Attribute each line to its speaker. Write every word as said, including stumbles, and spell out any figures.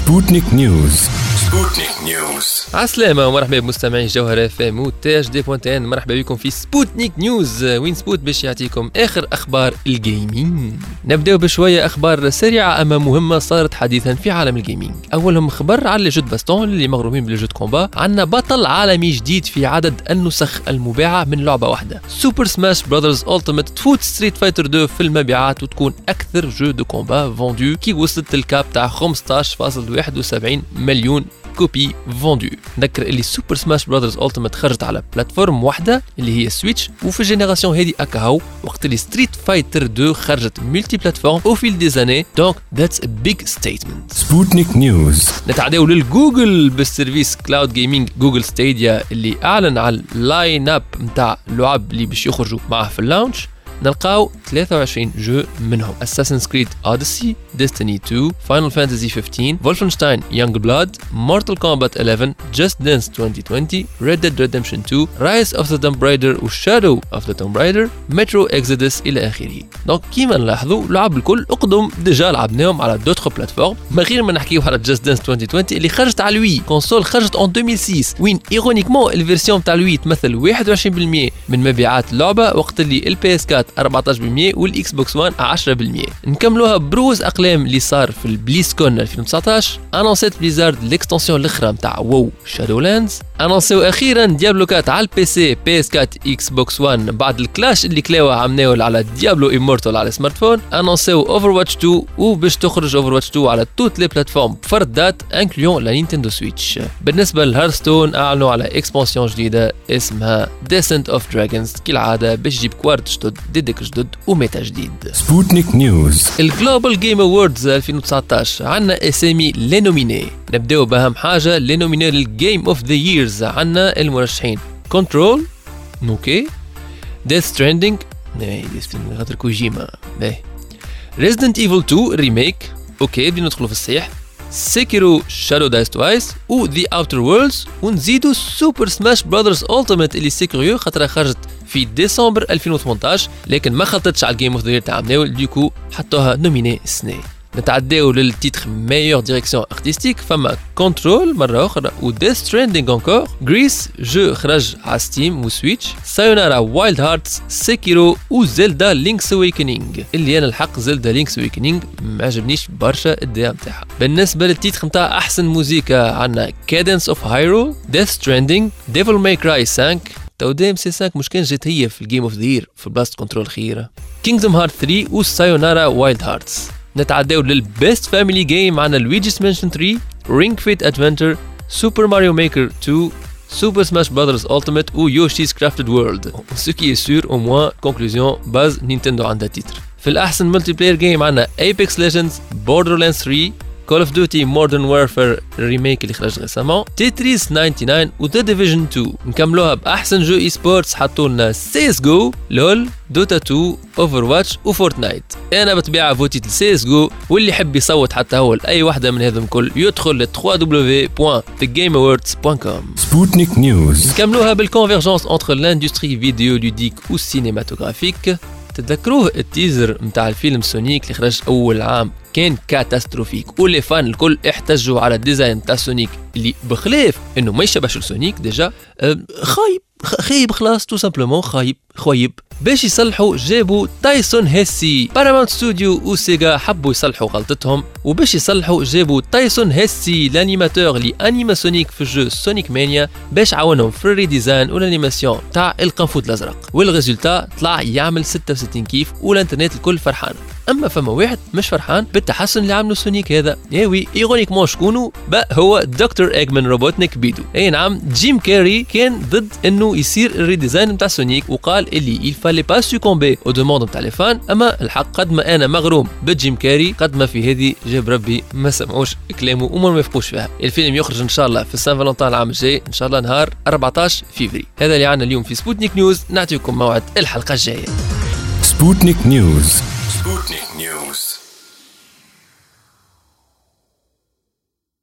Speaker 1: سبوتنيك نيوز. سبوتنيك نيوز.
Speaker 2: عسلامة ومرحبا بمستمعي جوهرة فام وتاج دي بوانتين. مرحبا بكم في سبوتنيك نيوز، وين سبوت باش يعطيكم آخر أخبار الجيمنج. نبدأ بشوية أخبار سريعة أما مهمة صارت حديثا في عالم الجيمنج. أولهم خبر على لي جود باستون اللي مغرومين بالجود كومبا. عندنا بطل عالمي جديد في عدد النسخ المباعة من لعبة واحدة. سوبر سماش براذرز ألتيميت تفوت ستريت فايتر اثنين في المبيعات وتكون أكثر جو دو كومبا فوندو كي وصلت الكاب تاع خمسطاش فاصلة واحد وسبعين مليون كوبي فوندو. نذكر اللي سوبر سماش براذرز ألتيميت خرجت على بلاتفورم واحدة اللي هي سويتش، وفي الجينيراسيون هذه اكاهو وقت اللي ستريت فايتر اثنين خرجت ملتي بلاتفورم او فيل دي زاني. دونك ذاتس ا بيج ستيتمنت.
Speaker 1: سبوتنيك نيوز.
Speaker 2: نتعداو للجوجل بالسيرفيس كلاود جيمنج جوجل ستيديا اللي اعلن على اللاين اب نتاع اللعب اللي باش يخرجوا معاه في اللانش. نلقاو ثلاثة وعشرين جو منهم Assassin's Creed Odyssey, Destiny two, Final Fantasy fifteen, Wolfenstein Youngblood, Mortal Kombat eleven, Just Dance twenty twenty, Red Dead Redemption two, Rise of the Tomb Raider و Shadow of the Tomb Raider, Metro Exodus إلى آخره. دونك كيما نلاحظوا لعب الكل أقدم ديجا لعبناهم على دوتر بلاتفورم، ما غير ما نحكيو على Just Dance twenty twenty اللي خرجت على الوي كونسول خرجت en deux mille six، وين إيرونيكمون الفيرسيون تاع الوي تمثل واحد وعشرين بالمية من مبيعات اللعبة، وقت اللي البي اس فور أربعطاش بالمية والاكس بوكس وان عشرة بالمية. نكملوها بروز اقلام اللي صار في البليسكون ألفين وتسعطاش. انونسيت بليزارد الاكستنسيون الاخرى نتاع وو شادولاندز. انونسيو اخيرا ديابلو فور على البي سي بي اس فور اكس بوكس وان بعد الكلاش اللي كلاوه عملناه على ديابلو امورتال على سمارت فون. انونسيو اوفر واتش تو وباش تخرج اوفر واتش تو على توت لي بلاتفورم بفرد دات انكليون لا نينتندو سويتش. بالنسبه لهارستون اعلنوا على اكسبانسيون جديده اسمها ديسنت اوف دراجونز كالعاده باش تجيب كوارت جدد ديدك جدد وميتا جديد.
Speaker 1: سبوتنيك نيوز.
Speaker 2: الجلوبال جيم اووردز ألفين وتسعطاش عندنا اسامي لي نوميني. نبداو باهم حاجه لي نوميني للجيم اوف ذا ييرز. عندنا المرشحين كنترول، نوكي، ديث ستراندينج، اي ديث ستراندينج خاطر كوجيما، باهي، ريزيدنت ايفل تو ريميك، اوكي بدنا ندخلوا في الصيح، سيكيرو شادو دايس توايس و ذا اوتر وورلدز، ونزيدوا سوبر سماش براذرز ألتيميت اللي سيكيريو خاطر خرجت في ديسمبر ألفين وثمنطاش لكن ما خلطتش على الجيم اوف ذا يير تاع مناول، ديكو حطوها نوميني السنه. نتعداو للتيتر ميور ديريكسيون ارتستيك. فما كنترول مره اخرى و ديث ستراندينج انكور، غريس جو خرج على ستيم وسويتش، سايونارا وايلد هارتس، سيكيرو و زيلدا لينكس اويكنينج اللي انا الحق زيلدا لينكس اويكنينج ما عجبنيش برشا الدعم تاعها. بالنسبه للتيتر نتاع احسن موسيقى عندنا كادنس اوف هايرو، ديث ستراندينج، ديفل ماي كراي خمسة، تو دي ام سي خمسة مش كان جات هي في الجيم اوف ذا يير في بلاست كنترول خيره، كينجدوم هارت ثري و سايونارا وايلد هارتس. نتعداو للبيست فاميلي جيم عندنا لويجي's Mansion ثري، رينج فيت ادفنتشر، سوبر ماريو ميكر تو، سوبر سماش براذرز ألتيميت و يوشي's كرافتد وورلد. سو كي سور او موان كونكلوزيون باز نينتندو عندها تيتر. في الاحسن ملتي بلاير جيم عندنا ايبكس ليجندز، بوردرلاندز ثري، كول اوف ديوتي مودرن وارفير ريميك اللي خرج ريسامون، تيتريس تسعة وتسعين و ذا ديفيجن تو. نكملوها باحسن جو اي سبورتس حطوا لنا سي اس جو، لول، دوتا تو، اوفر واتش وفورتنايت. انا بطبيعه فوتيت لسي اس جو، واللي يحب يصوت حتى هو لاي واحده من هذم كل يدخل ل دبليو دبليو دبليو بوان ذا جيم اووردز بوان كوم.
Speaker 1: سبوتنيك نيوز.
Speaker 2: نكملوها بالكونفرجنس انتر لاندستري فيديو لوديك و سينماتوغرافيك. تتذكروه التيزر متاع الفيلم سونيك اللي خرج اول عام كان كاتاستروفيك، ولي فان الكل احتجوا على الديزاين تاع سونيك اللي بخلاف انه ما يشبهش لسونيك ديجا خايب خايب خلاص تو سامبلومون خايب خايب. باش يصلحوا جابوا تايسون هيسي. باراماونت ستوديو وسيجا حبوا يصلحوا غلطتهم، وباش يصلحوا جابوا تايسون هيسي الانيماتور اللي انيما سونيك في جو سونيك مانيا باش عاونهم في الريديزاين والانيماسيون تاع القنفوذ الازرق، والريزولتا طلع يعمل ستة وستين كيف والانترنت الكل فرحان. اما فما واحد مش فرحان بالتحسن اللي عملوا سونيك هذا. ياوي ايرونيكمون شكونو با هو دكتور ايجمان روبوتنيك بيدو. اي نعم جيم كاري كان ضد انه يصير الريديزاين نتاع سونيك وقال اللي il fallait pas succomber aux demandes نتاع لي فان. اما الحق قد ما انا مغروم بجيم كاري قد ما في هذه جاب ربي ما سمعوش كلامه وما يفقوش فيها. الفيلم يخرج ان شاء الله في سان فالنتين العام الجاي ان شاء الله نهار أربعطاش فيفري. هذا اللي عنا اليوم في سبوتنيك نيوز. نعطيكم موعد الحلقه الجايه.
Speaker 1: سبوتنيك نيوز. سبوتنيك